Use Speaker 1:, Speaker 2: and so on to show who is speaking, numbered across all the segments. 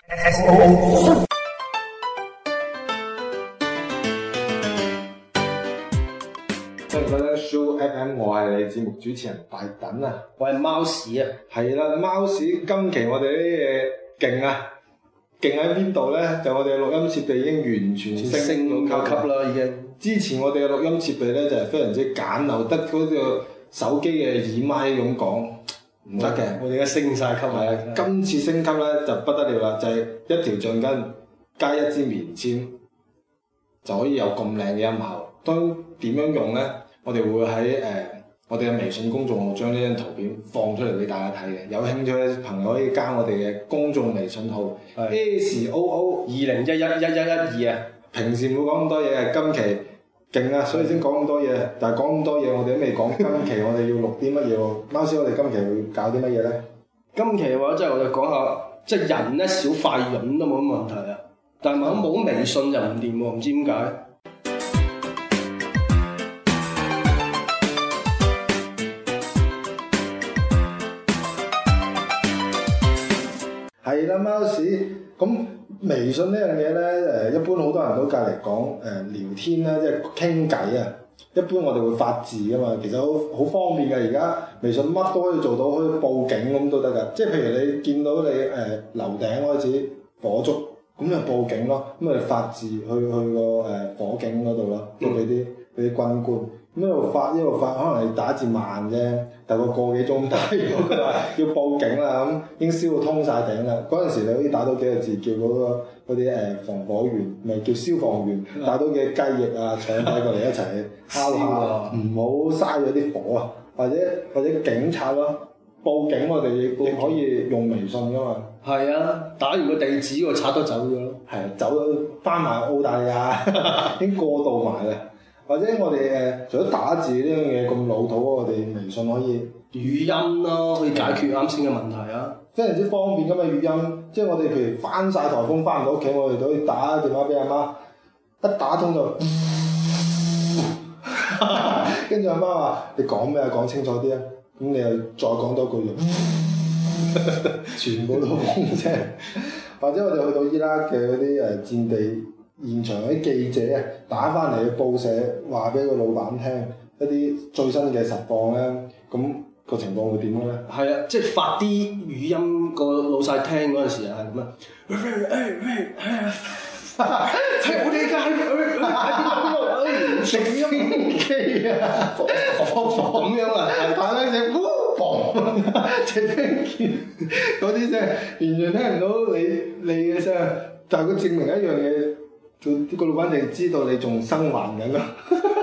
Speaker 1: 歡迎收聽 Show FM， 我係你節目主持人大躉啊，
Speaker 2: 我係貓屎啊，
Speaker 1: 係啦，貓屎今期我哋啲嘢勁啊！勁喺邊度咧？就我哋嘅錄音設備已經完全升咗級啦，已經。之前我哋嘅錄音設備咧就係非常之簡陋，得嗰個手機嘅耳麥咁講唔得嘅。
Speaker 2: 我哋而家升晒級
Speaker 1: 係啊！今次升級咧就不得了啦，就係一條橡筋加一支棉籤就可以有咁靚嘅音效。當點樣用咧？我哋會喺我哋嘅微信公眾號將呢張圖片放出嚟俾大家睇嘅。有興趣嘅朋友可以加我哋嘅公眾微信號 SOO20111112啊。平時唔會講咁多嘢嘅，今期勁啊，所以先講咁多嘢。但係講咁多嘢，我哋都未講今期我哋要錄啲乜嘢喎？貓屎，我哋今期會搞啲乜嘢咧？
Speaker 2: 今期嘅話，即係我哋講下，即係人咧少塊潤都冇乜問題啊。但係冇微信就唔掂喎，唔知點解。
Speaker 1: 係啦，貓屎咁微信呢樣嘢咧，一般好多人都隔離講聊天啦，即係傾偈啊。一般我哋會發字噶嘛，其實好方便嘅。而家微信乜都可以做到，可以報警咁都得㗎。即係譬如你見到你樓頂開始火燭，咁就報警咯。咁咪發字去個火警嗰度咯，即係俾啲軍官。咁一路發，可能你打字慢啫，大概個幾鐘打完，佢話要報警啦，咁已經燒到通晒頂啦。嗰陣時你可以打到幾個字，叫嗰啲防火員，咪叫消防員，打到幾隻雞翼啊、腸仔過嚟一齊敲下，唔好嘥咗啲火啊，或者警察咯，報警我哋亦可以用微信噶嘛。
Speaker 2: 係啊，打完個地址個賊都走咗咯。
Speaker 1: 係啊，走咗翻埋澳大利亞，已經過渡埋啦。或者我哋除咗打字呢樣嘢咁老土，我哋微信可以
Speaker 2: 語音咯，可以解決啱先嘅問題啊，
Speaker 1: 非常之方便㗎嘛語音。即係我哋譬如翻晒颱風翻唔到屋企，我哋都可以打電話俾阿媽，一打通就，跟住阿媽話：你講咩啊？講清楚啲啊！咁你又再講多句，全部都風聲。或者我哋去到伊拉克嘅嗰啲戰地。現場嗰啲記者啊，打翻嚟嘅報社話俾個老闆聽一啲最新嘅實況咧，咁個情況會點咧？
Speaker 2: 係啊，即係發啲語音個老細聽嗰陣時啊，係咁啊，係我哋而家喺食音機啊，咁樣啊，打緊隻呼嘣，隻聲嗰啲聲完全聽唔到你嘅聲，但係佢證明一樣嘢。個老闆就知道你仲生還緊咯，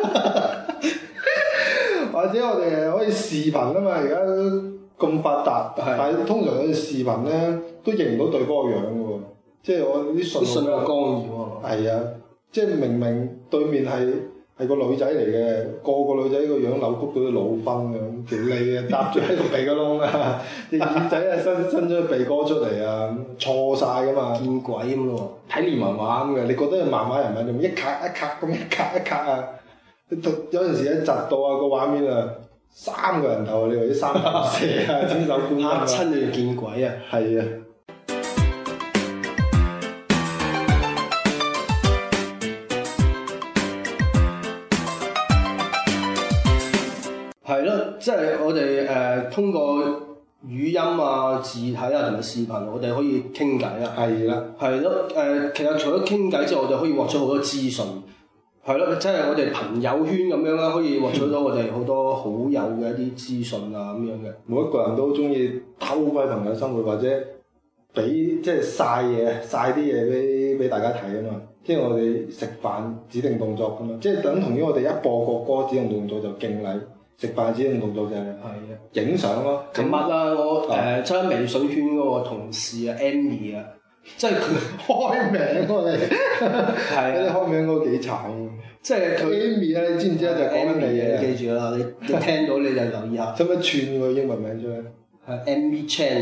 Speaker 2: 或者我哋可以視頻啊嘛，而家咁發達，但係通常我哋視頻咧都認唔到對方個樣嘅喎，即係我啲信號干擾喎。係啊，即係明明對面係個女仔嚟嘅，個女仔個樣扭曲到啲老分咁，條脷啊搭住喺個鼻哥窿啊，隻耳仔啊伸咗個鼻哥出嚟啊，錯晒噶嘛，見鬼咁咯喎！睇連環畫咁嘅，你覺得係漫畫人物用一卡一卡咁一卡一卡啊？有陣時一窒到啊個畫面啊，3個人頭，你話啲3頭蛇啊，千手觀音啊，嚇親你見鬼啊！係啊。係咯，即係我哋通過語音啊、字體啊同埋視頻，我哋可以傾偈啊。係啦，係咯，其實除咗傾偈之外，我哋可以獲取好多資訊。係咯，即係我哋朋友圈咁樣啦，可以獲取到我哋好多好友嘅一啲資訊啊咁樣嘅。每一個人都中意偷窺朋友生活，或者俾即係曬啲嘢俾大家睇啊嘛。即係我哋食飯指定動作㗎嘛，即係等同於我哋一播國歌指定動作就敬禮。食飯指定動作就係影相咯。琴日啊，我即係微信圈嗰個同事啊 Amy 啊，即係佢開名我哋，係啊，啲開名嗰個幾慘。即係佢 Amy 啊，你知唔知啊？就講緊你嘢，記住啦，你聽到你就留意下。使唔使串個英文名出嚟？係 Amy Chan，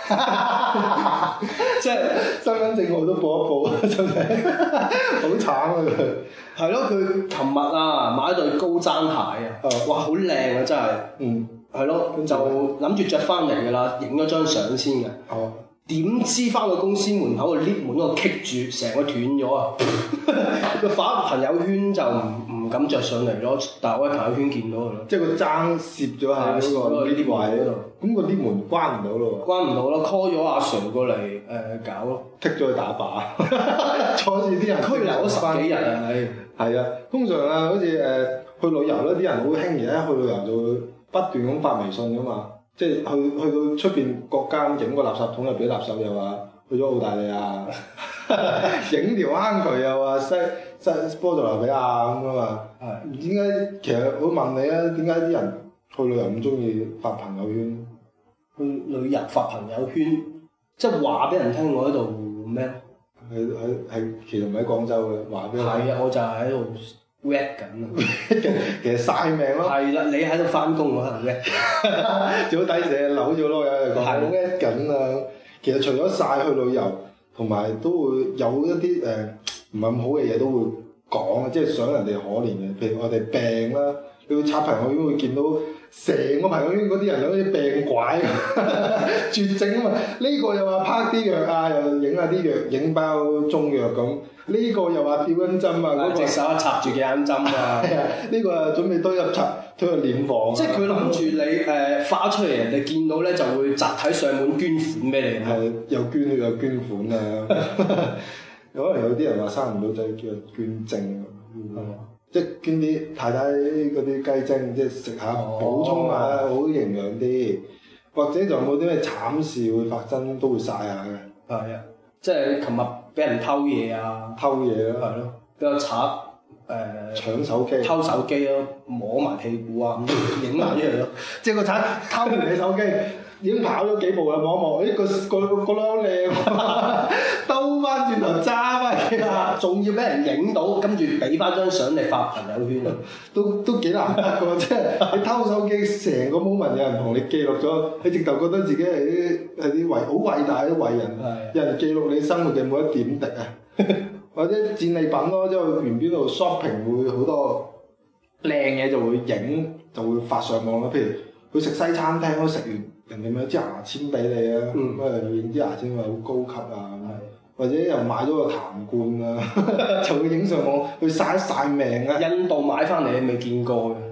Speaker 2: 即係身份證號都報一報，真係好慘啊佢。係咯，佢琴日啊買咗對高踭鞋啊，哇好靚啊真係，係咯，就諗住着翻嚟㗎啦，影咗張相先嘅。 點知翻到公司門口個 lift 門嗰度棘住，成個斷咗啊！佢發朋友圈就唔敢着上嚟咯，但係我喺朋友圈見到佢咯。
Speaker 1: 即係個踭攝咗喺嗰個 lift 位嗰度，咁個 lift 門關唔到咯喎。
Speaker 2: 關唔到咯 ，call 咗阿 Sir 過嚟搞咯，
Speaker 1: 剔咗佢打靶，坐住啲人
Speaker 2: 拘留咗10幾日啊！
Speaker 1: 係啊，通常啊，好似去旅遊咧，啲人好興而家去旅遊就會不斷咁發微信噶嘛。即係去到出邊國家影個垃圾桶入邊啲垃圾又話去咗澳大利亞，影條坑渠又話西波多黎各咁啊嘛。係點解？其實我問你啊，點解啲人去旅遊咁中意發朋友圈？
Speaker 2: 去旅遊發朋友圈，即係話俾人聽我喺度咩？
Speaker 1: 係其實唔喺廣州嘅，話俾人。
Speaker 2: 係啊，我就係喺度 rap 緊啊！
Speaker 1: 其實曬命咯。係
Speaker 2: 啦，你喺度翻工，我喺度 rap。
Speaker 1: 最好抵死扭咗咯，有人講我 rap 緊啊！其實除咗曬去旅遊，同埋都會有一啲唔係咁好嘅嘢都會講，即係想人哋可憐嘅。譬如我哋病啦，你會刷朋友圈會見到成個朋友圈嗰啲人好似病拐絕症啊嘛！呢個又話拍啲藥啊，又影下啲藥，影包中藥咁。呢個又話吊緊針啊，嗰個
Speaker 2: 隻手插住幾眼針啊！
Speaker 1: 呢個又準備推入殮房。即係
Speaker 2: 佢諗住你發出嚟，人哋見到咧就會集體上門捐款俾你。
Speaker 1: 係又捐血又捐款啊！可能有啲人話生唔到仔叫人捐精，即係捐啲太太嗰啲雞精，即係食下補充下，好營養啲。或者就冇啲咩慘事會發生，都會曬下嘅。
Speaker 2: 係啊，即係琴日俾人偷嘢啊！
Speaker 1: 偷嘢咯，
Speaker 2: 係咯，俾個賊
Speaker 1: 搶手機，
Speaker 2: 偷手機咯，摸埋屁股啊，影埋出嚟咯。
Speaker 1: 即係個賊偷完你手機，已經跑咗幾步啦，望一望，個孬靚，兜翻轉頭揸翻嚟啦，
Speaker 2: 仲要俾人影到，跟住俾翻張相你發朋友圈啊，
Speaker 1: 都幾難得㗎喎！即係你偷手機，成個 moment 有人同你記錄咗，你直頭覺得自己係啲好偉大啲偉人，有人記錄你生活嘅每一點滴啊！或者戰利品咯，即係去邊度 shopping 會好多靚嘢就會影，就會發上網啦。譬如去食西餐廳，都食完人哋咪有支牙籤俾你啊，咁啊影支牙籤話好高級啊，或者又買咗個痰罐啊，就會影上網去曬一曬命啊。
Speaker 2: 印度買翻嚟你未見過嘅。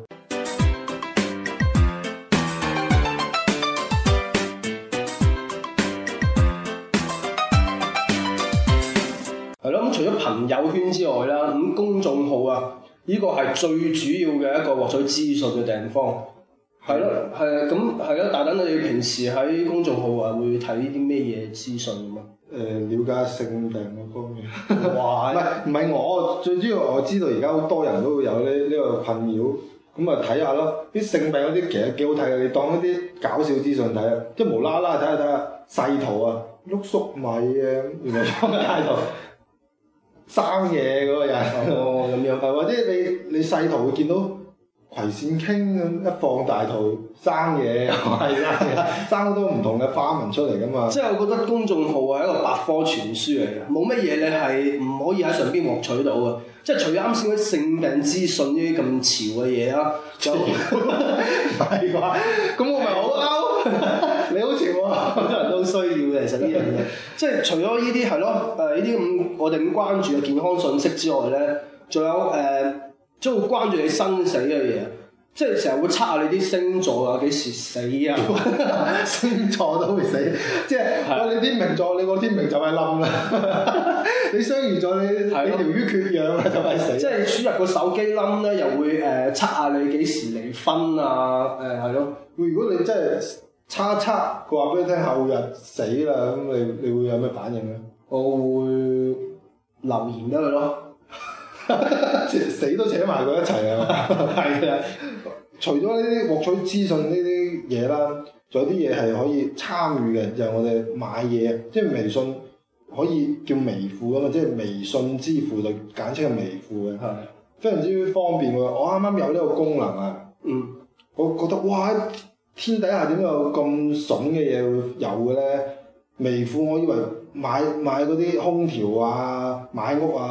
Speaker 2: 係咯，咁除咗朋友圈之外啦，咁公眾號啊，呢個係最主要嘅一個獲取資訊嘅地方。係咯，係啊，咁係咯。大躉，你平時喺公眾號啊，會睇啲咩嘢資訊咁啊？
Speaker 1: 了解性病嗰方面。哇！唔係我最主要，我知道而家好多人都會有呢個困擾，咁啊睇下咯。啲性病嗰啲其實幾好睇嘅，你當一啲搞笑資訊睇啊，即係無啦啦睇下細圖啊，碌粟米啊，原來喺街度生嘢嗰個人。
Speaker 2: 哦，咁樣。
Speaker 1: 或者你細圖會見到葵扇傾咁一放大圖生嘢，係生好多唔同嘅花紋出嚟噶嘛。
Speaker 2: 即係我覺得公眾號係一個百科全書嚟嘅，冇乜嘢你係唔可以喺上邊獲取到嘅。即係除咗啱先嗰啲性病資訊呢啲咁潮嘅嘢啦，就
Speaker 1: 係啩？咁我咪好嬲，你好潮喎，
Speaker 2: 好多人都需要嘅。其實呢樣嘢，即係除咗呢啲係咯，呢啲咁我哋咁關注嘅健康信息之外咧，仲有即係會關注你生死嘅嘢，即係成日會測下你啲星座啊，幾時死啊？
Speaker 1: 星座都會死，即係你天秤座，你個天秤就係冧啦。你雙魚座，你條魚缺氧啦，就係死。
Speaker 2: 即係輸入個手機冧咧，又會測下你幾時離婚啊？係咯。
Speaker 1: 如果你真係測一測，佢話俾你聽後日死啦，咁你會有咩反應咧？
Speaker 2: 我會留言俾佢咯。
Speaker 1: 死都扯埋佢一齊啊！係啊，除咗呢啲獲取資訊呢啲嘢啦，仲有啲嘢係可以參與嘅，就係我哋買嘢，即係微信可以叫微付啊嘛，即係微信支付就簡稱係微付嘅，係非常之方便喎。我啱啱有呢個功能啊，我覺得哇，天底下點有咁筍嘅嘢會有嘅咧？微付我以為買嗰啲空調啊、買屋啊。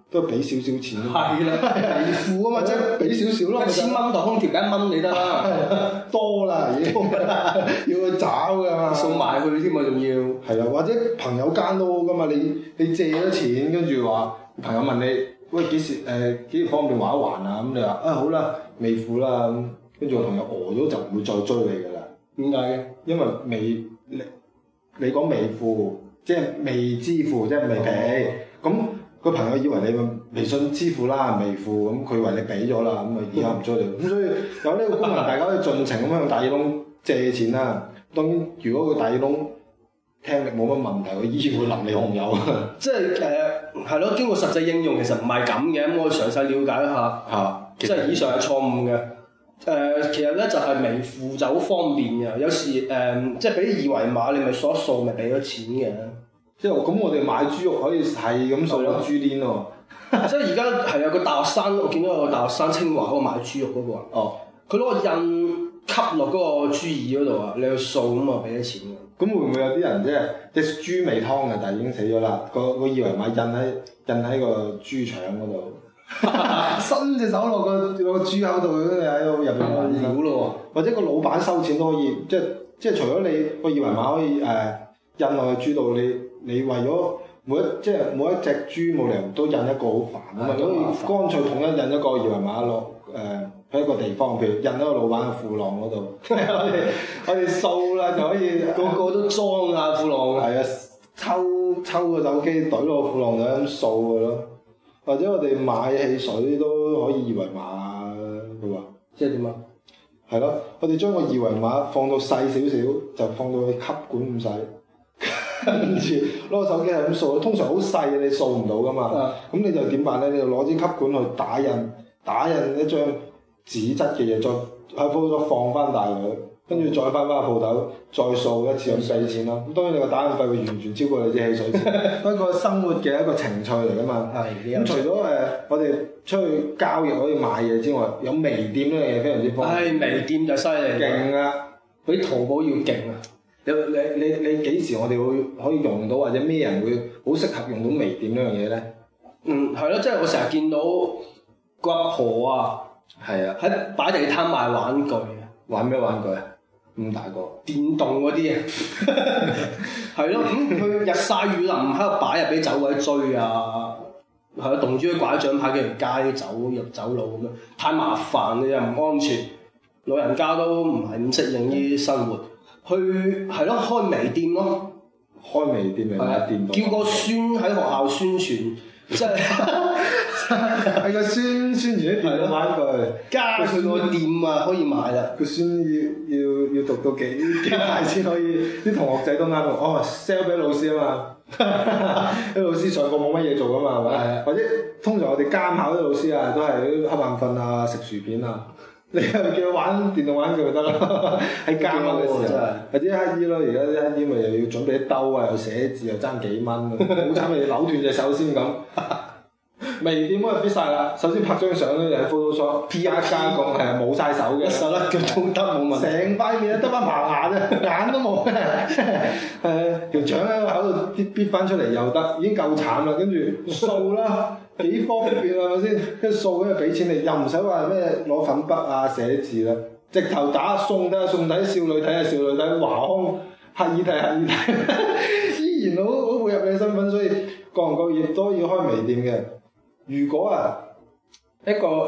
Speaker 1: 都係俾少少錢。
Speaker 2: 係啦，微付啊嘛，即係
Speaker 1: 俾少少咯。
Speaker 2: 1000蚊台空調1蚊你得啦，
Speaker 1: 多啦已經，要去找㗎嘛，
Speaker 2: 送埋去添嘛仲要。
Speaker 1: 係啦，或者朋友間都好㗎嘛，你借咗錢，跟住話朋友問你，喂幾時方便還一還啊？咁你話好啦，未付啦咁，跟住個朋友咗就唔會再追你㗎啦。
Speaker 2: 點解嘅？
Speaker 1: 因為你講未付，即係未支付，即係未俾。咁個朋友以為你微信支付啦，未付，咁佢以為你俾咗啦，咁啊以後唔追你。咁所以有呢個功能，大家可以盡情咁向大耳窿借錢啦。當然，如果個大耳窿聽力冇乜問題，佢依然會淋你紅油。
Speaker 2: 即係係咯，經過實際應用其實唔係咁嘅，咁我詳細了解一下。
Speaker 1: 嚇，
Speaker 2: 即係以上係錯誤嘅。其實咧就係微付就好方便嘅，有時即係俾二維碼，你咪掃一掃咪俾咗錢嘅。
Speaker 1: 即係咁，我哋買豬肉可以係咁掃粒豬鏈喎。
Speaker 2: 即係而家係有個大學生，我見到有個大學生清華嗰個買豬肉嗰個啊。
Speaker 1: 哦。佢
Speaker 2: 攞個印吸落嗰個豬耳嗰度啊，你去掃咁啊俾咗錢嘅。
Speaker 1: 咁會唔會有啲人即係豬未劏嘅，但係已經死咗啦？個二維碼印喺個豬腸嗰度。伸隻手落個豬口度，跟住喺度入邊揾料咯喎，或者個老闆收錢都可以，即係除咗你個二維碼可以印落去豬度，你為咗每一隻豬冇理由都印一個好煩啊嘛，可以乾脆統一印一個二維碼落喺一個地方，譬如印喺個老闆嘅褲浪嗰度，我哋掃啦就可以
Speaker 2: 個個都裝下褲浪。
Speaker 1: 係啊，抽個手機懟落個褲浪度咁掃嘅咯。或者我哋買汽水都可以二維碼嘅喎，
Speaker 2: 即係點啊？
Speaker 1: 係咯，我哋將個二維碼放到細少少，就放到去吸管咁細，跟住攞個手機係咁掃，通常好細嘅你掃唔到噶嘛。咁你就點辦咧？你就攞支吸管去打印一張紙質嘅嘢，再喺鋪頭放翻大佢。跟住再翻鋪頭，再掃一次咁俾錢咯。咁當然你個打印費會完全超過你支汽水錢，不過生活嘅一個情趣嚟噶嘛。係。咁除咗我哋出去交易可以買嘢之外，有微店呢樣嘢非常之方便。
Speaker 2: 微店就犀利。勁啊！比淘寶要勁啊！
Speaker 1: 你幾時我哋會可以用到，或者咩人會好適合用到微店呢樣嘢咧？
Speaker 2: 係咯，即係我成日見到個阿婆啊，
Speaker 1: 係啊，
Speaker 2: 喺擺地攤賣玩具。
Speaker 1: 玩咩玩具啊？咁大個
Speaker 2: 電動嗰啲啊，係咯，咁佢日曬雨淋喺度擺啊，俾走鬼追啊，係咯，動住啲拐杖牌幾條街走路咁樣，太麻煩又唔安全，老人家都唔係咁適應呢啲生活，去係咯開微店咯，
Speaker 1: 開微店嚟賣電動，
Speaker 2: 叫個孫喺學校宣傳，即係
Speaker 1: 係個孫傳啲電動玩具，
Speaker 2: 加佢個店啊可以買啦。
Speaker 1: 個孫要讀到幾大先可以？啲同學仔都啱喎，sell 俾老師啊嘛，啲老師上課冇乜嘢做噶嘛，係咪？或者通常我哋監考啲老師啊，都係瞌眼瞓啊，食薯片啊，你又叫佢玩電動玩具就得啦，喺監考嘅時候，或者乞衣咯，而家啲乞衣咪又要準備啲兜啊，又寫字又爭幾蚊，好慘咪扭斷隻手先咁。微店嗰日必晒啦，首先拍張相咧就喺 Photoshop P.R. 加工係冇晒手嘅，
Speaker 2: 手甩腳都得冇問題，
Speaker 1: 成塊面得翻棚牙啫，眼都冇，條腸喺個口度搣翻出嚟又得，已經夠慘啦。跟住掃啦，幾方便係咪先？跟住掃跟住俾錢你，又唔使話咩攞粉筆啊寫字啦，直頭打送睇少女睇下少女睇，華康乞兒睇，依然好配合你身份，所以各行各業都要開微店嘅。如果啊，一個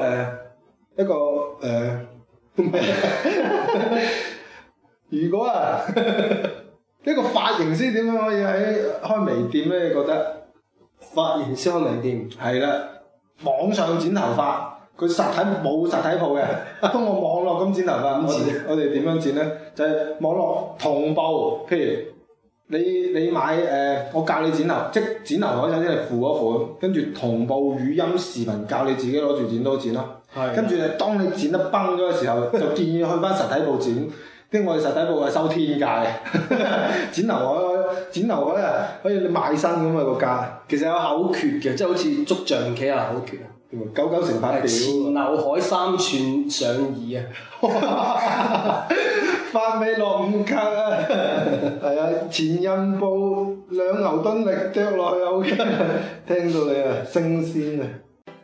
Speaker 1: 如果啊，一個髮型師點樣可以喺開微店咧？你覺得
Speaker 2: 髮型師開微店
Speaker 1: 係啦，網上剪頭髮，佢實體冇實體鋪嘅，通過網絡咁剪頭髮。我哋點樣剪咧？就係網絡同步，譬如。你買我教你剪頭，即剪頭嗰陣先係付嗰款，跟住同步語音視頻教你自己攞住剪刀剪咯。跟住當你剪得崩咗嘅時候，就建議去翻實體鋪剪。因為我哋實體鋪係收天價嘅，剪頭嗰日可以你賣身咁啊個價。
Speaker 2: 其實有口訣嘅，即係好似捉象棋啊口訣啊。
Speaker 1: 99乘法表。
Speaker 2: 前劉海3寸上耳啊！
Speaker 1: 發尾落5格啊！係啊， 前任部2牛頓力啄落去 OK， 聽到你啊，升仙啊！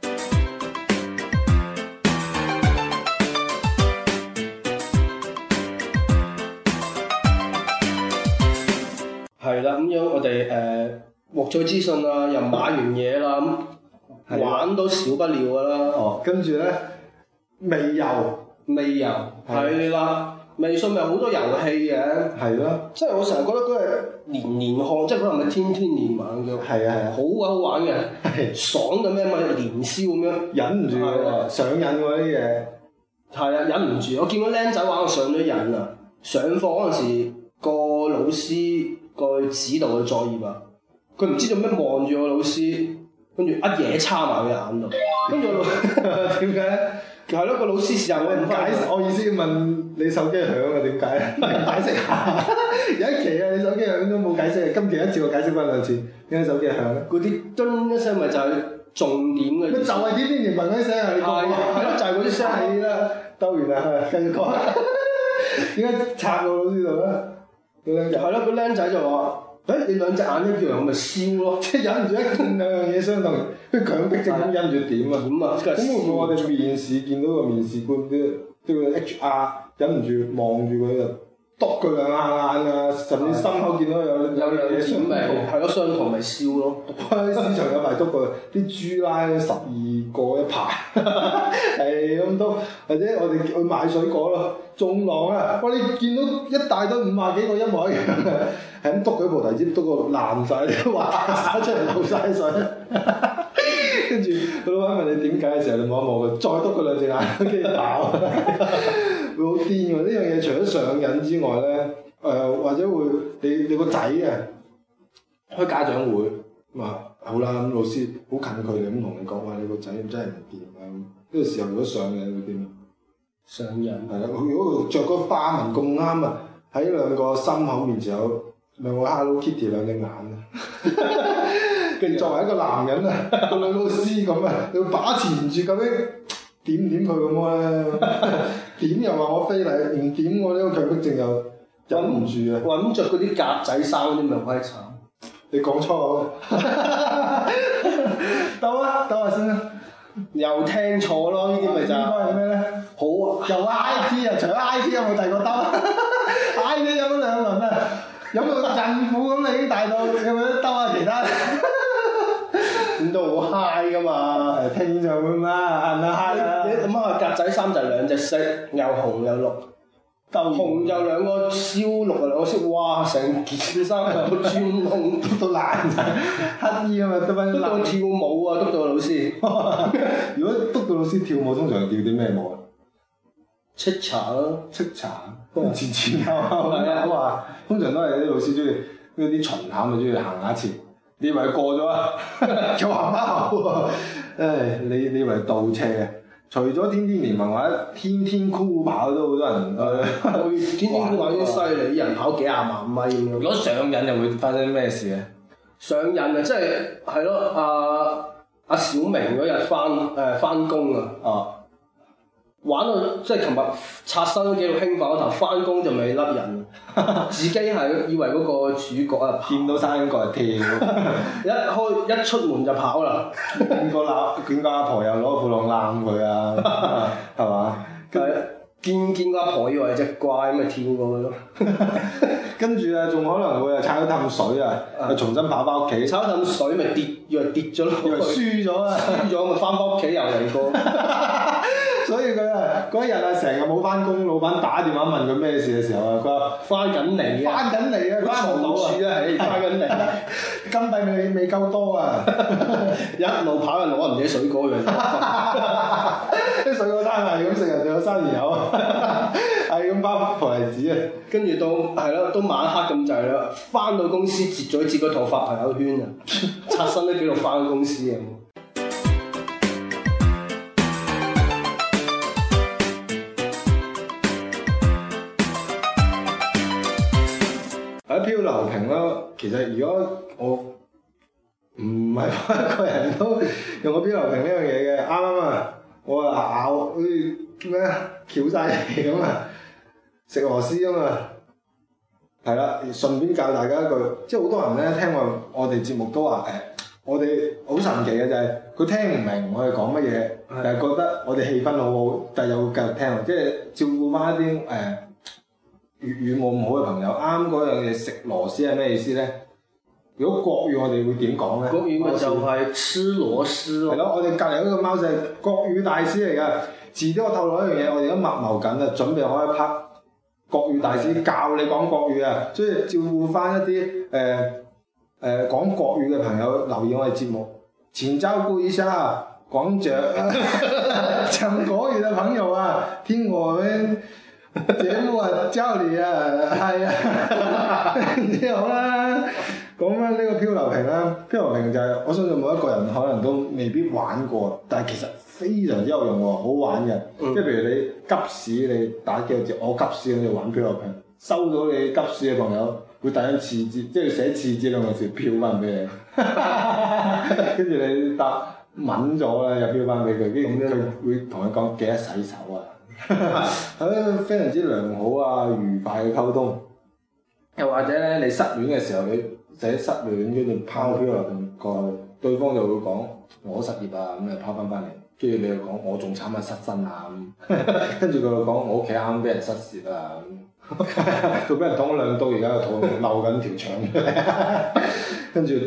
Speaker 2: 係啦，咁樣我哋獲取資訊啦，又買完嘢啦，咁玩都少不了㗎啦。
Speaker 1: 哦，跟住咧，微遊
Speaker 2: 係啦，微信咪好多遊戲嘅。係咯。即係我成日覺得嗰係連連看，即係嗰係咪天天連玩叫？係啊，好鬼好玩嘅，爽到咩咪連燒咁樣，
Speaker 1: 忍唔住喎，上癮喎啲嘢。
Speaker 2: 係啊，忍唔住！我見到僆仔玩我上咗癮啊！上課嗰陣時，個老師個指導嘅作業啊，佢唔知做咩望住個老師，跟住一嘢插埋佢眼度，跟住點解咧？係咯，個老師時候我唔解釋，
Speaker 1: 我意思問你手機響啊？點解？解釋下。有一期啊，你手機響都冇解釋，今期一次我解釋翻2次，點解手機響咧？
Speaker 2: 嗰啲噔一聲咪就係重點嘅。
Speaker 1: 咪就係天天連文嗰啲聲啊！你講係
Speaker 2: 咯，就係嗰啲聲。
Speaker 1: 係啦，兜完啦，繼續講。點解插到老師度咧？
Speaker 2: 係咯，個僆仔就話：你兩隻眼一樣，咪燒咯！
Speaker 1: 即係忍唔住一見兩樣嘢相同，佢強迫症咁忍住點啊？
Speaker 2: 點啊？咁
Speaker 1: 會唔會我哋面試見到個面試官啲個 HR 忍唔住望住佢啊，篤佢兩下眼啊，甚至心口見到有樣嘢相同，
Speaker 2: 係咯，相同咪燒咯。
Speaker 1: 喺市場有排篤過啲豬拉12個一排，係咁篤，或者我哋去買水果咯，種狼啊！哇！你見到一大堆50幾個一模一樣嘅，係咁篤佢菩提子，篤個爛晒，滑曬出嚟流晒水。跟住個老闆問你點解嘅時候，你望一望佢，再篤佢2隻眼，跟住爆，會好癲喎！呢樣嘢除咗上癮之外咧，或者會你個仔啊開家長會，咁啊好啦，咁老師好近距離咁同你講話，你個仔真係唔掂啊！呢個時候如果上癮會點啊？
Speaker 2: 上癮
Speaker 1: 係啦，如果着個花紋咁啱啊，喺2個心口面前有2個 Hello Kitty 2隻眼啊！跟住作為一個男人啊，個女老師咁啊，要把持唔住究竟點唔點佢咁咧？點又話我非禮，唔點我呢個強迫症又忍唔住啊！
Speaker 2: 揾着嗰啲格仔衫嗰啲咪鬼慘！
Speaker 1: 你講粗口，兜下先啦。
Speaker 2: 又聽錯咯，呢啲咪就
Speaker 1: 應該係咩咧？
Speaker 2: 好
Speaker 1: 又 I T 啊！除咗 I T 有冇第二個兜？I T 飲咗2輪啊！飲到孕婦咁，你已經大到有冇得兜下其他？
Speaker 2: 咁都好 high 噶嘛！
Speaker 1: 聽演唱會嘛，係咪 high 啊？
Speaker 2: 你諗下格仔衫就2隻色，又紅又綠。紅就2個燒，綠就2個燒，哇！成件衫有個專窿，篤到爛晒，
Speaker 1: 乞衣啊嘛，得翻啲
Speaker 2: 篤到跳舞啊，篤到個老師。
Speaker 1: 如果篤到老師跳舞，通常係跳啲咩舞啊？
Speaker 2: 叱咤咯，
Speaker 1: 叱咤，前後咁話，通常都係啲老師中意嗰啲巡考咪中意行下前。你以為過咗啊？又行翻後喎！唉，你以為倒車啊？除咗天天聯盟或者天天酷跑都好多人
Speaker 2: 天天酷跑啲犀利，啲人跑幾廿萬米咁樣。
Speaker 1: 如果上癮又會發生咩事咧？
Speaker 2: 上癮啊，即係咯，阿小明嗰日翻工啊，玩到即係琴日刷新咗幾度興奮嗰頭，翻工就未甩癮，自己係以為嗰個主角啊，
Speaker 1: 見到山角就跳，
Speaker 2: 一出門就跑啦，
Speaker 1: 見個阿婆又攞褲浪攬佢啊，係嘛？
Speaker 2: 見個阿婆以為係隻怪咁咪跳過去咯，
Speaker 1: 跟住啊仲可能會踩到氹水啊，又重新跑翻屋企，
Speaker 2: 踩到氹水咪以為跌咗咯，
Speaker 1: 以為輸咗啊，
Speaker 2: 輸咗咪翻屋企又嚟過。
Speaker 1: 所以佢啊嗰日啊成日冇翻工，老闆打電話問佢咩事嘅時候啊，佢話
Speaker 2: 翻緊嚟啊，
Speaker 1: 翻唔到啊，
Speaker 2: 翻緊嚟，
Speaker 1: 金幣未夠多啊，
Speaker 2: 一路跑就攞人哋啲水果去，
Speaker 1: 啲水果攤係咁食人哋個生意友啊，係咁包菩提子啊，
Speaker 2: 跟住都晚黑咁滯啦，翻到公司截咗套發朋友圈啊，刷新咗記錄翻公司啊。
Speaker 1: 喺漂流瓶咯，其實如果我唔係一個人都用過漂流瓶呢樣嘢嘅，啱啊！我啊咬好似咩翹晒嚟咁啊，食螺絲啊嘛， 係啦，順便教大家一句，即係好多人咧聽我哋節目都話我哋好神奇嘅就係佢聽唔明我哋講乜嘢，但係覺得我哋氣氛好好，但係又會繼續聽，即係照顧翻一啲粵語冇咁好嘅朋友。啱嗰樣嘢食螺絲係咩意思咧？如果國語我哋會點講咧？
Speaker 2: 國語咪就係吃螺絲咯。
Speaker 1: 係咯，我哋隔離嗰個貓就係國語大師嚟㗎。遲啲我透露一樣嘢，我哋而家密謀緊啊，準備開一 part 國語大師教你講國語啊，所以照顧翻一啲講國語嘅朋友留意我哋節目，請照顧一下講講國語嘅朋友啊，聽我們節目啊，教你啊，係啊，之後啦。講翻呢個漂流瓶啦，漂流瓶就係我相信每一個人可能都未必玩過，但係其實非常之有用喎，好玩嘅。即係譬如你急屎，你打幾個字，我急屎，你玩漂流瓶，收到你急屎嘅朋友會帶張廁紙，即係寫廁紙兩個字漂翻俾你，跟住你答抿咗咧又漂翻俾佢，跟住佢會同你講記得洗手啊，係非常之良好啊，愉快嘅溝通。又或者咧，你失戀嘅時候你寫失戀，跟住拋漂流瓶過去，對方就會講我失業啊，咁就拋翻嚟，跟住你又講我仲慘啊失身啊，跟住佢又講我屋企啱啱俾人失竊啊，佢俾人捅咗兩刀，而家個肚漏緊條腸，跟住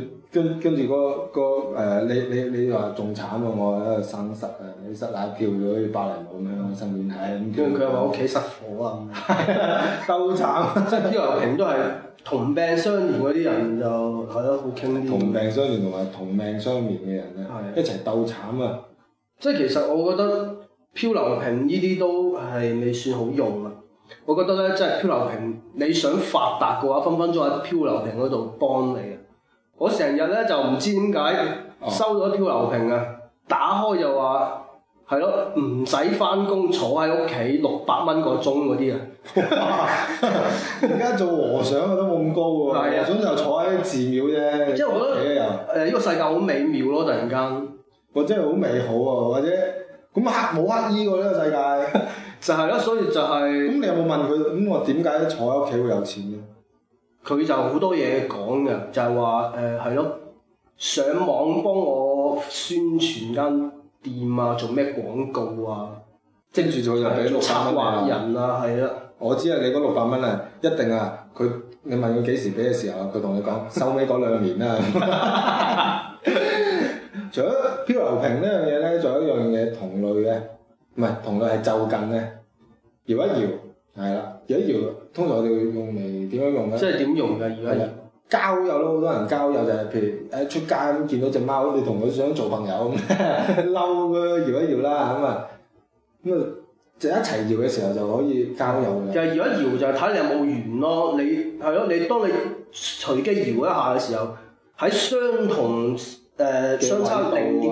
Speaker 1: 你話仲慘啊，我喺度生塞啊，你塞奶跳咗去芭蕾舞咁樣，身邊係，
Speaker 2: 跟住佢又話屋企失火啊，
Speaker 1: 都慘，
Speaker 2: 即係漂流瓶都係同病相憐嗰啲人就係咯，好傾啲。
Speaker 1: 同病相憐同埋同命相憐嘅人咧，一齊鬥慘啊！
Speaker 2: 即係其實我覺得漂流瓶呢啲都係未算好用啊。我覺得咧，即係漂流瓶，你想發達嘅話，分分鐘喺漂流瓶嗰度幫你啊！我成日咧就唔知點解收咗漂流瓶啊，打開就話係咯，唔使翻工，坐喺屋企600蚊個鐘嗰啲啊！
Speaker 1: 而家做和尚啊都冇咁高喎，和尚就坐喺寺廟啫。
Speaker 2: 即係我覺得呢個世界好美妙咯，突然間，
Speaker 1: 或者係好美好啊，或者咁冇乞衣喎呢個世界，
Speaker 2: 就係咯，所以就係。
Speaker 1: 咁你有冇問佢咁我點解坐喺屋企會有錢嘅？
Speaker 2: 佢就好多嘢講嘅，就係話係咯，上網幫我宣傳間店啊，做咩廣告啊，
Speaker 1: 跟住就俾600蚊
Speaker 2: 策劃人啊，係啦。
Speaker 1: 我知啊，你嗰600蚊啊，一定啊，你問佢幾時俾嘅時候，佢同你講收尾嗰2年啦。除咗漂流瓶呢樣嘢咧，仲有一樣嘢同類嘅，唔係同類係就近咧，搖一搖，係啦，搖一搖，通常我哋會用嚟點樣用咧？
Speaker 2: 即係點用㗎？搖一搖。
Speaker 1: 交友咯，好多人交友就係譬如出街咁見到隻貓，你同佢想做朋友咁，嬲佢搖一搖啦咁啊，就一齊搖嘅時候就可以交友嘅。
Speaker 2: 就係搖一搖就係睇你有冇緣咯，你係咯，你當你隨機搖一下嘅時候，喺相同相差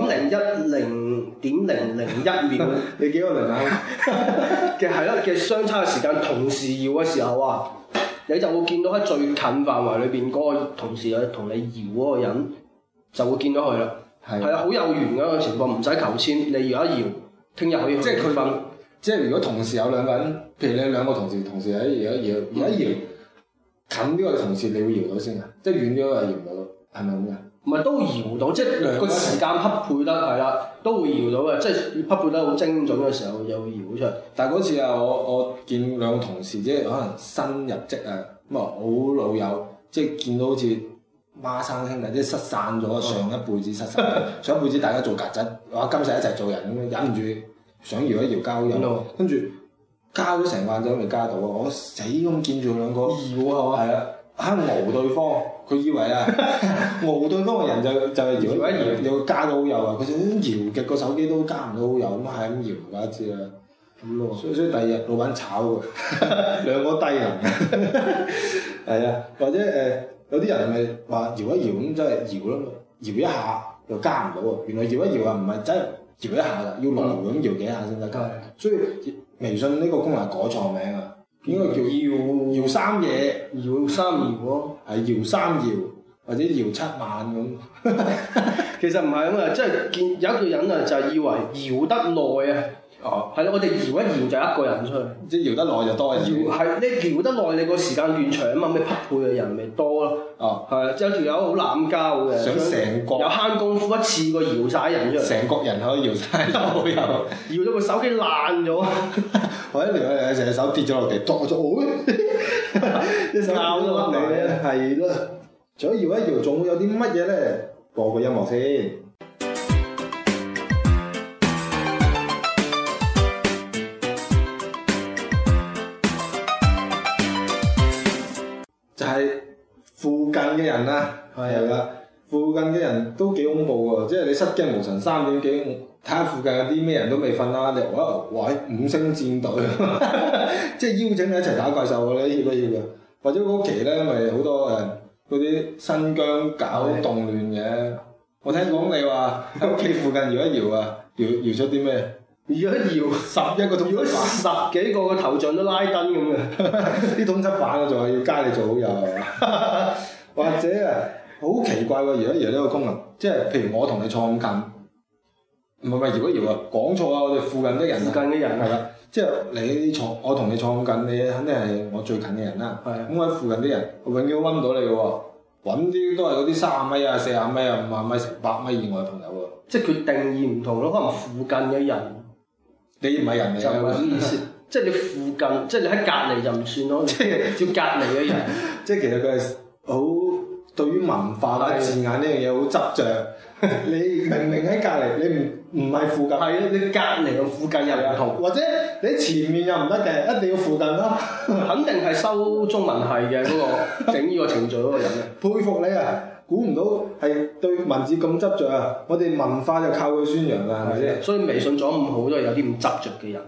Speaker 2: 0.01、0.001秒，
Speaker 1: 你幾個零啊？
Speaker 2: 嘅係咯嘅相差嘅時間，同時搖嘅時候啊！你就會見到喺最近範圍裏邊嗰個同時同你搖嗰個人，就會見到佢啦。係啊，好有緣嘅一個情況，唔使求籤，你搖一搖，聽日可以去結婚。
Speaker 1: 即係如果同時有2個人，譬如你2個同事喺搖一搖，近啲個同事你會搖到先啊？即係遠啲嗰個搖唔到，係咪咁㗎？
Speaker 2: 唔係都搖到，即係個時間匹配得係啦，都會搖到嘅，即係匹配得好精準嘅時候就會搖出嚟。
Speaker 1: 但係嗰次啊，我見2個同事即係可能新入職啊，咁啊好老友，即係見到好似孖生兄弟，即係失散咗上一輩子失散，上一輩子大家做曱甴，哇今世一齊做人咁樣，忍唔住想搖一搖交友，跟住交咗成晚就未加到啊！我死咁見住2個搖啊，係啊！喺熬對方，佢以為啊熬對方嘅人就係搖一搖，又加到好友啊！佢想搖極個手機都加唔到好友，咁係咁搖大家知啦。咁咯，所以第二日老闆炒佢，2個低能。係啊，或者有啲人咪話搖一搖咁，真係搖咯，搖一下又加唔到喎。原來搖一搖啊，唔係真係搖一下㗎，要來回咁搖幾下先得。所以微信呢個功能改錯名啊！應該叫搖3嘢，
Speaker 2: 搖3搖咯，
Speaker 1: 係搖3搖或者搖7萬咁。
Speaker 2: 其實唔係咁啊，即係見有一個人啊，就係以為搖得耐啊，
Speaker 1: 哦，
Speaker 2: 係咯，我哋搖一搖就一個人出去，
Speaker 1: 即係搖得耐就多人。
Speaker 2: 搖係你搖得耐，你個時間段長啊嘛，咩匹配嘅人咪多咯。
Speaker 1: 哦，
Speaker 2: 係啊，有條友好濫交嘅，
Speaker 1: 想成個
Speaker 2: 有慳功夫一次過搖晒人出嚟，
Speaker 1: 成國人可以搖晒都有，
Speaker 2: 搖到個手機爛咗，
Speaker 1: 或者條友成隻手跌咗落地，剁咗，一手拗咗你咧，係咯。除咗搖一搖，仲會有啲乜嘢咧？播個音樂先。就係附近嘅人啦，係啦，附近嘅人都幾恐怖喎，即係你失驚無神3點幾，睇下附近有啲咩人都未瞓啦，你話喂5星戰隊，即係邀請你一齊打怪獸喎，你要唔要嘅？或者嗰期咧咪好多嗰啲新疆搞動亂嘅，我聽講你話喺屋企附近搖一搖啊，搖出啲咩？搖一搖11個通緝犯，
Speaker 2: 十幾個頭像都拉燈咁嘅，
Speaker 1: 啲通緝犯啊，仲係要加你做好友係嘛？或者啊，好奇怪喎！搖一搖呢個功能，即係譬如我同你坐咁近，唔係搖一搖啊，講錯啊！我哋附近啲人，
Speaker 2: 附近啲人
Speaker 1: 係啦，即係你坐，我同你坐咁近，你肯定係我最近嘅人啦。係咁，我喺附近啲人，我永遠都揾唔到你嘅喎，揾啲都係嗰啲30米啊、40米啊、50米、100米以外嘅朋友喎。
Speaker 2: 即係佢定義唔同咯，可能附近嘅人。
Speaker 1: 你唔係人嚟嘅，
Speaker 2: 就唔係咁意思，即係你附近，即係你喺隔離就唔算咯，即係要隔離嘅人。
Speaker 1: 即係其實佢係好對於文化或者字眼呢樣嘢好執着。你明明喺隔離，你唔係附近。
Speaker 2: 係你隔離同附近又唔同。
Speaker 1: 或者你喺前面又唔得嘅，一定要附近咯。
Speaker 2: 肯定係修中文系嘅嗰個整呢個程序嗰個人嘅。
Speaker 1: 佩服你啊！估唔到係對文字咁執着啊！我哋文化就靠佢宣揚啦，係咪先？
Speaker 2: 所以微信做得咁好都係有啲咁執着嘅人。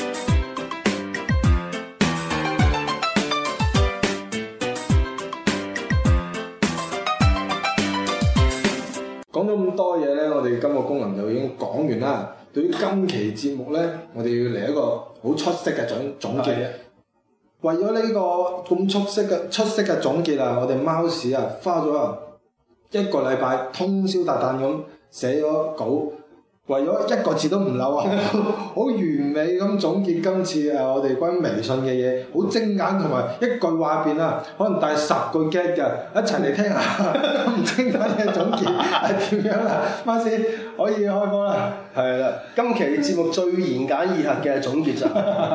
Speaker 1: 講咗咁多嘢咧，我哋今個功能就已經講完啦。對於今期節目咧，我哋要嚟一個好出色嘅總結。為咗呢個咁出色嘅總結啊，我哋貓屎啊花咗1個禮拜通宵達旦咁寫咗稿，為咗一個字都唔漏啊，好完美咁總結今次我哋關於微信嘅嘢，好精簡同埋一句話入邊啊，可能帶10句 get 嘅，一齊嚟聽下咁精簡嘅總結係點樣啦？貓屎可以開波啦，
Speaker 2: 係啦，今期節目最言簡意賅嘅總結就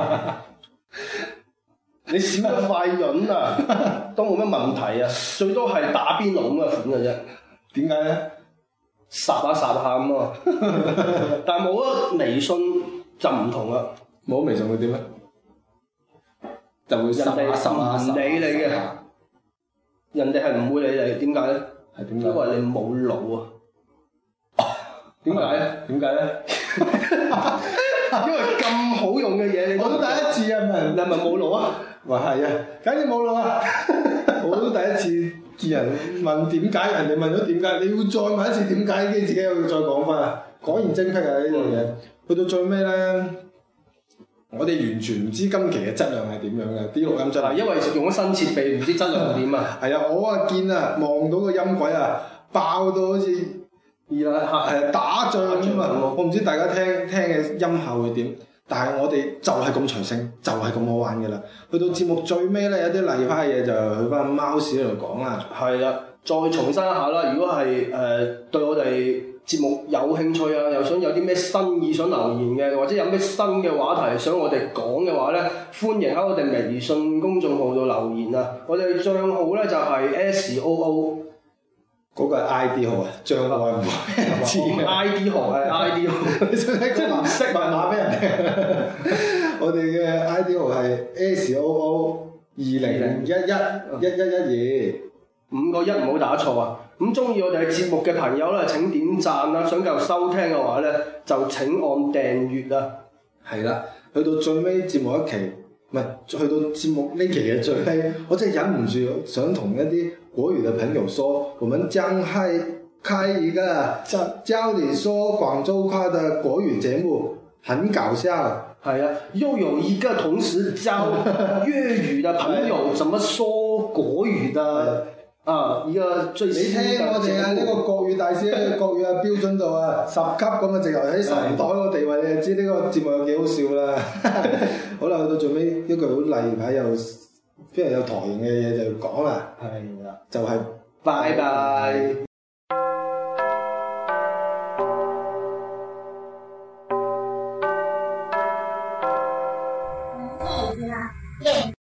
Speaker 2: 你少個快潤啊，都冇乜問題啊，最多係打邊爐咁嘅款嘅啫。
Speaker 1: 點解咧？
Speaker 2: 霎下咁啊！但係冇咗微信就唔同啦。
Speaker 1: 冇咗微信會點咧？就會霎下
Speaker 2: 唔理你嘅，人哋係唔會理你。點解咧？
Speaker 1: 係點解？
Speaker 2: 因為你冇腦啊！點解咧？
Speaker 1: 點解咧？
Speaker 2: 因為咁好用嘅嘢，
Speaker 1: 我都第一次啊！
Speaker 2: 你係咪冇腦啊？
Speaker 1: 話係啊，梗係冇腦啊！我都第一次見人問點解，人哋問咗點解，你要再問一次點解，跟住自己又要再講翻啊！果然精闢啊呢樣嘢。去到最尾咧，我哋完全唔知今期嘅質量係點樣嘅，啲錄音質量。
Speaker 2: 因為用咗新設備，唔知質量點啊！
Speaker 1: 係啊，我啊見啊，望到個音軌啊，爆到好似打仗咁啊！我唔知大家聽嘅音效會點。但係我哋就係咁隨性，就係咁好玩嘅啦。去到節目最尾咧，有啲例牌嘢就去翻貓屎嗰度講啦。
Speaker 2: 係啦，再重申一下啦。如果係對我哋節目有興趣啊，又想有啲咩新意想留言嘅，或者有咩新嘅話題想我哋講嘅話咧，歡迎喺我哋微信公眾號度留言啊！我哋賬號咧就係 SOO。
Speaker 1: 嗰個係 ID 號啊，帳號係唔知嘅。
Speaker 2: ID 號係 ID 號，
Speaker 1: 你使唔使即係唔識密碼俾人哋？我哋嘅 ID 號係 SOO20111112，5
Speaker 2: 個1唔好打錯啊！咁中意我哋嘅節目嘅朋友咧，請點讚啦！想繼續收聽嘅話咧，就請按訂閱啊！
Speaker 1: 係啦，去到最尾節目一期，唔係去到節目呢期嘅最尾，我真係忍唔住想同一啲國語嘅朋友說，我們將開一個教你說廣州話的國語節目，很搞笑。
Speaker 2: 係啊，又有一個同時教粵語的朋友怎麼說國語的啊！依個最
Speaker 1: 你聽我哋啊，呢個國語大師嘅國語啊標準度啊10級咁啊，直頭喺神台嗰個地位，你就知呢個節目有幾好笑啦。好啦，去到最尾一句好例牌又非常有台型嘅嘢就講啦，
Speaker 2: 係啦，
Speaker 1: 就係
Speaker 2: 拜拜。